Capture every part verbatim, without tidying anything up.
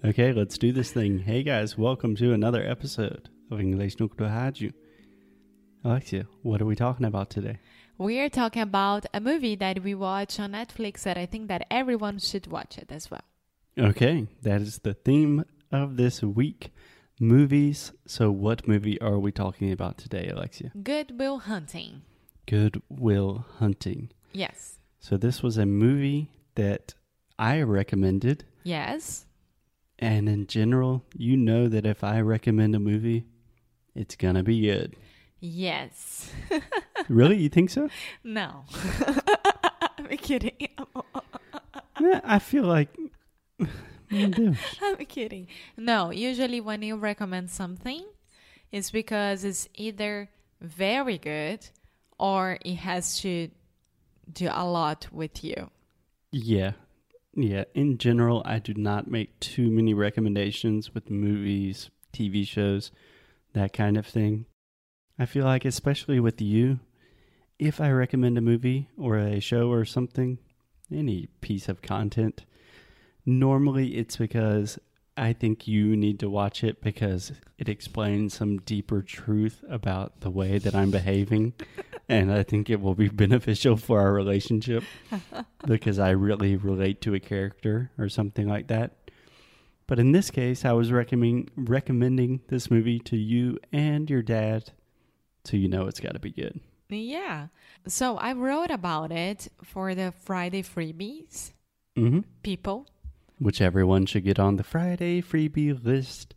Okay, let's do this thing. Hey guys, welcome to another episode of English no Kuro Rádio. Alexia, what are we talking about today? We are talking about a movie that we watch on Netflix that I think that everyone should watch it as well. Okay, that is the theme of this week, movies. So what movie are we talking about today, Alexia? Good Will Hunting. Good Will Hunting. Yes. So this was a movie that I recommended. Yes. And in general, you know that if I recommend a movie, it's gonna be good. Yes. Really? You think so? No. I'm kidding. Yeah, I feel like... I'm I'm kidding. No, usually when you recommend something, it's because it's either very good or it has to do a lot with you. Yeah. Yeah. In general, I do not make too many recommendations with movies, T V shows, that kind of thing. I feel like, especially with you, if I recommend a movie or a show or something, any piece of content, normally it's because I think you need to watch it because it explains some deeper truth about the way that I'm behaving. And I think it will be beneficial for our relationship because I really relate to a character or something like that. But in this case, I was recommending recommending this movie to you and your dad, so you know it's got to be good. Yeah. So I wrote about it for the Friday freebies Mm-hmm. people. Which everyone should get on the Friday freebie list.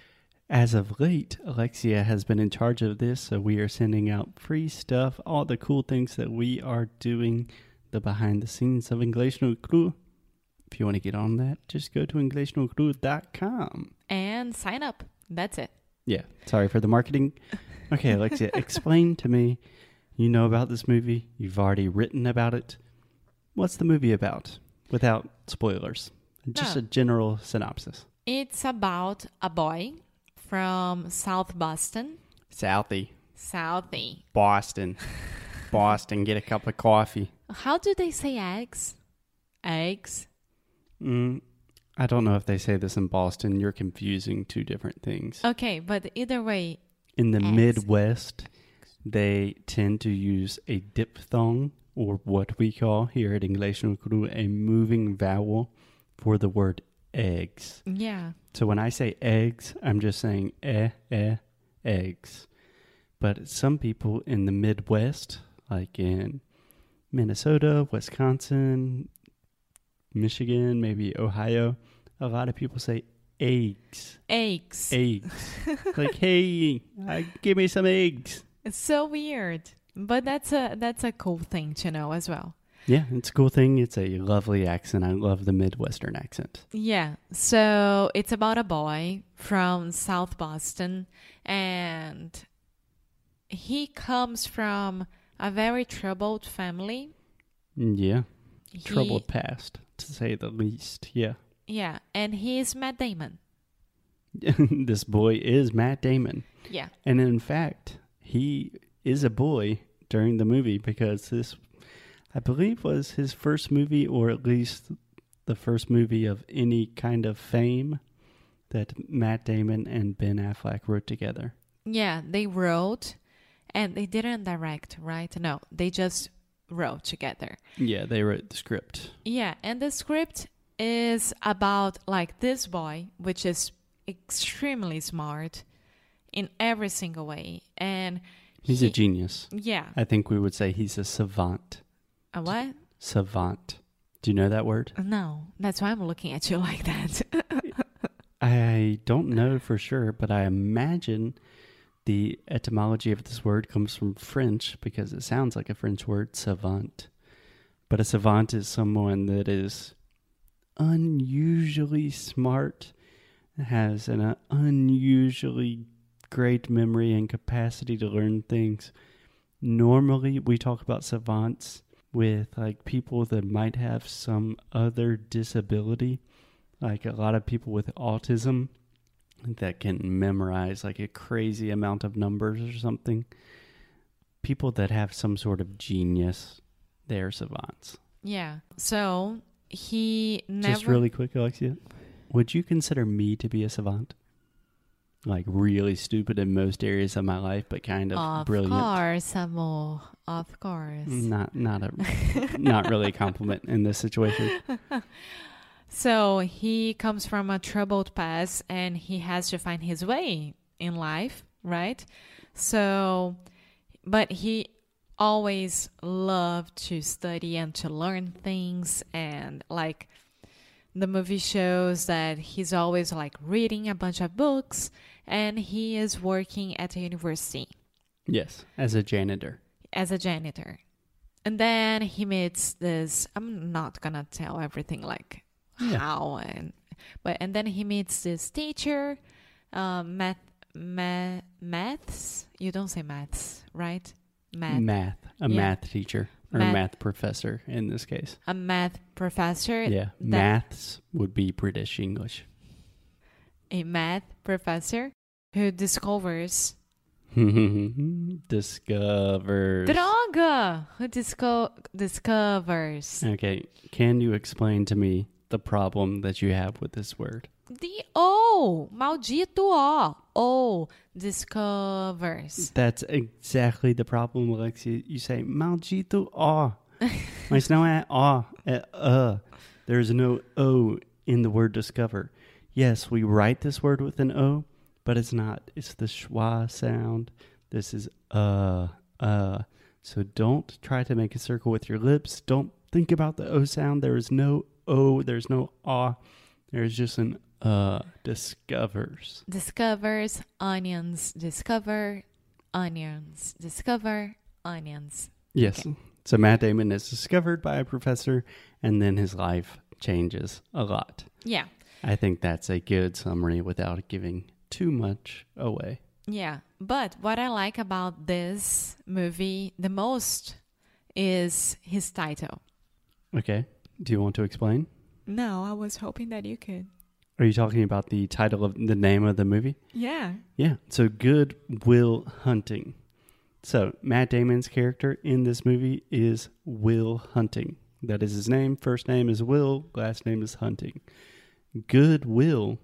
As of late, Alexia has been in charge of this, so we are sending out free stuff, all the cool things that we are doing, the behind the scenes of English no Kuro. If you want to get on that, just go to english no kuro dot com. And sign up. That's it. Yeah, sorry for the marketing. Okay, Alexia, explain to me, you know about this movie, you've already written about it. What's the movie about, without spoilers? Just No. a general synopsis. It's about a boy from South Boston. Southie. Southie. Boston. Boston, get a cup of coffee. How do they say eggs? Eggs? Mm, I don't know if they say this in Boston. You're confusing two different things. Okay, but either way. In the eggs. Midwest, they tend to use a diphthong, or what we call here at English no Kuro, a moving vowel for the word eggs. Yeah. So when I say eggs, I'm just saying eh, eh, eggs. But some people in the Midwest, like in Minnesota, Wisconsin, Michigan, maybe Ohio, a lot of people say eggs. Eggs. Eggs. Like, hey, uh, give me some eggs. It's so weird. But that's a that's a cool thing to know as well. Yeah, it's a cool thing. It's a lovely accent. I love the Midwestern accent. Yeah. So it's about a boy from South Boston, and he comes from a very troubled family. Yeah. He- Troubled past, to say the least. Yeah. Yeah. And he's Matt Damon. This boy is Matt Damon. Yeah. And in fact, he is a boy during the movie because this, I believe, was his first movie, or at least the first movie of any kind of fame that Matt Damon and Ben Affleck wrote together. Yeah. They wrote, and they didn't direct, right? No. They just wrote together. Yeah, they wrote the script. Yeah. And the script is about like this boy, which is extremely smart in every single way. And He's he, a genius. Yeah. I think we would say he's a savant. A what? Savant. Do you know that word? No. That's why I'm looking at you like that. I don't know for sure, but I imagine the etymology of this word comes from French because it sounds like a French word, savant. But a savant is someone that is unusually smart, has an uh, unusually great memory and capacity to learn things. Normally, we talk about savants with like people that might have some other disability, like a lot of people with autism that can memorize like a crazy amount of numbers or something. People that have some sort of genius, they're savants. Yeah. So he never... Just really quick, Alexia. Would you consider me to be a savant? Like really stupid in most areas of my life, but kind of, Of brilliant. course, amor. Of course. Not not a not really a compliment in this situation. So he comes from a troubled past and he has to find his way in life, right? So, but he always loved to study and to learn things, and like the movie shows that he's always like reading a bunch of books, and he is working at a university Yes, as a janitor. as a janitor. And then he meets this, I'm not gonna tell everything like Yeah. how and but and then he meets this teacher, um, math, math, maths. You don't say maths, right? Math. Math. A Yeah. math teacher. Or Math. math professor in this case. A math professor. Yeah. that- Maths would be British English. A math professor who discovers Discovers. droga. Who disco- discovers Okay. Can you explain to me the problem that you have with this word? the O. Maldito O. O discovers. That's exactly the problem, Alexia. You say, maldito ó. Mas não é ó, é uh. There's no O in the word discover. Yes, we write this word with an O, but it's not. It's the schwa sound. This is uh, uh. So don't try to make a circle with your lips. Don't think about the O sound. There is no O. There's no ah. There's just an uh. Discovers. Discovers onions. Discover onions. Discover onions. Yes. Okay. So Matt Damon is discovered by a professor, and then his life changes a lot. Yeah. I think that's a good summary without giving too much away. Yeah. But what I like about this movie the most is his title. Okay. Do you want to explain? No, I was hoping that you could. Are you talking about the title of the name of the movie? Yeah. Yeah. So Good Will Hunting. So Matt Damon's character in this movie is Will Hunting. That is his name. First name is Will. Last name is Hunting. Good Will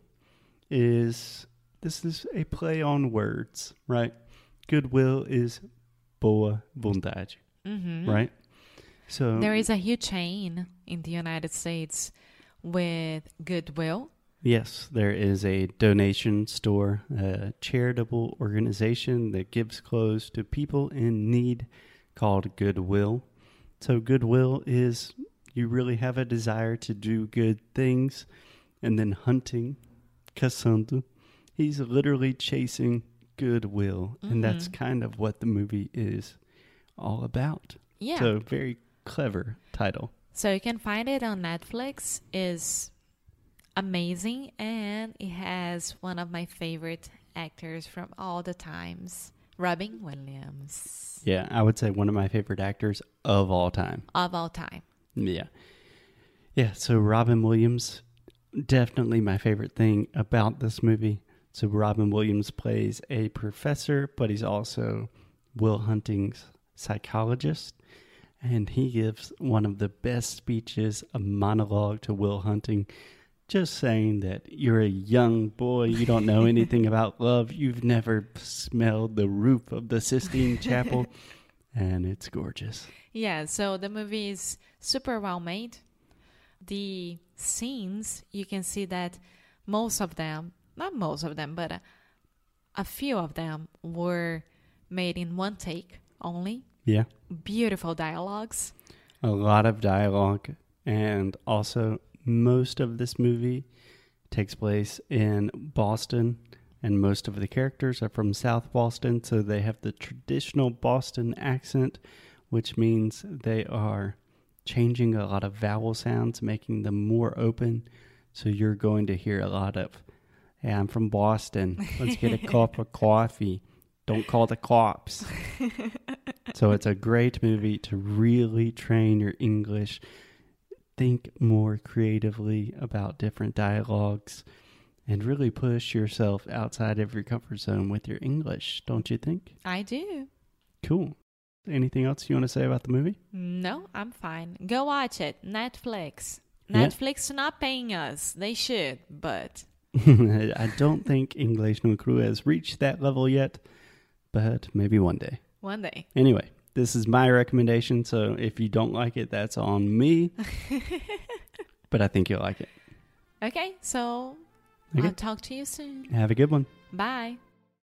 is, this is a play on words, right? Goodwill is boa vontade, Mm-hmm. right? So There is a huge chain in the United States with Goodwill. yes, there is a donation store, a charitable organization that gives clothes to people in need called Goodwill. So Goodwill is you really have a desire to do good things, and then hunting, caçando, he's literally chasing goodwill, and that's Mhm. kind of what the movie is all about. Yeah. So very clever title. So you can find it on Netflix. Is amazing, and it has one of my favorite actors from all the times, Robin Williams, Yeah, I would say one of my favorite actors of all time. of all time. Yeah. Yeah, so Robin Williams, definitely my favorite thing about this movie. So Robin Williams plays a professor, but he's also Will Hunting's psychologist. And he gives one of the best speeches, a monologue to Will Hunting, just saying that you're a young boy, you don't know anything about love, you've never smelled the roof of the Sistine Chapel, and it's gorgeous. Yeah, so the movie is super well made. The scenes, you can see that most of them, not most of them, but a, a few of them were made in one take only. Yeah. Beautiful dialogues. A lot of dialogue, and also most of this movie takes place in Boston, and most of the characters are from South Boston, so they have the traditional Boston accent, which means they are changing a lot of vowel sounds, making them more open. So you're going to hear a lot of, hey, I'm from Boston. Let's get a cup of coffee. Don't call the cops. So it's a great movie to really train your English. Think more creatively about different dialogues and really push yourself outside of your comfort zone with your English, don't you think? I do. Cool. Anything else you want to say about the movie? No, I'm fine. Go watch it. Netflix. Yeah. Netflix not paying us. They should, but I don't think English no Cru has reached that level yet, but maybe one day. one day. Anyway, this is my recommendation, so if you don't like it, that's on me. But I think you'll like it. Okay, so Okay. I'll talk to you soon. Have a good one. Bye.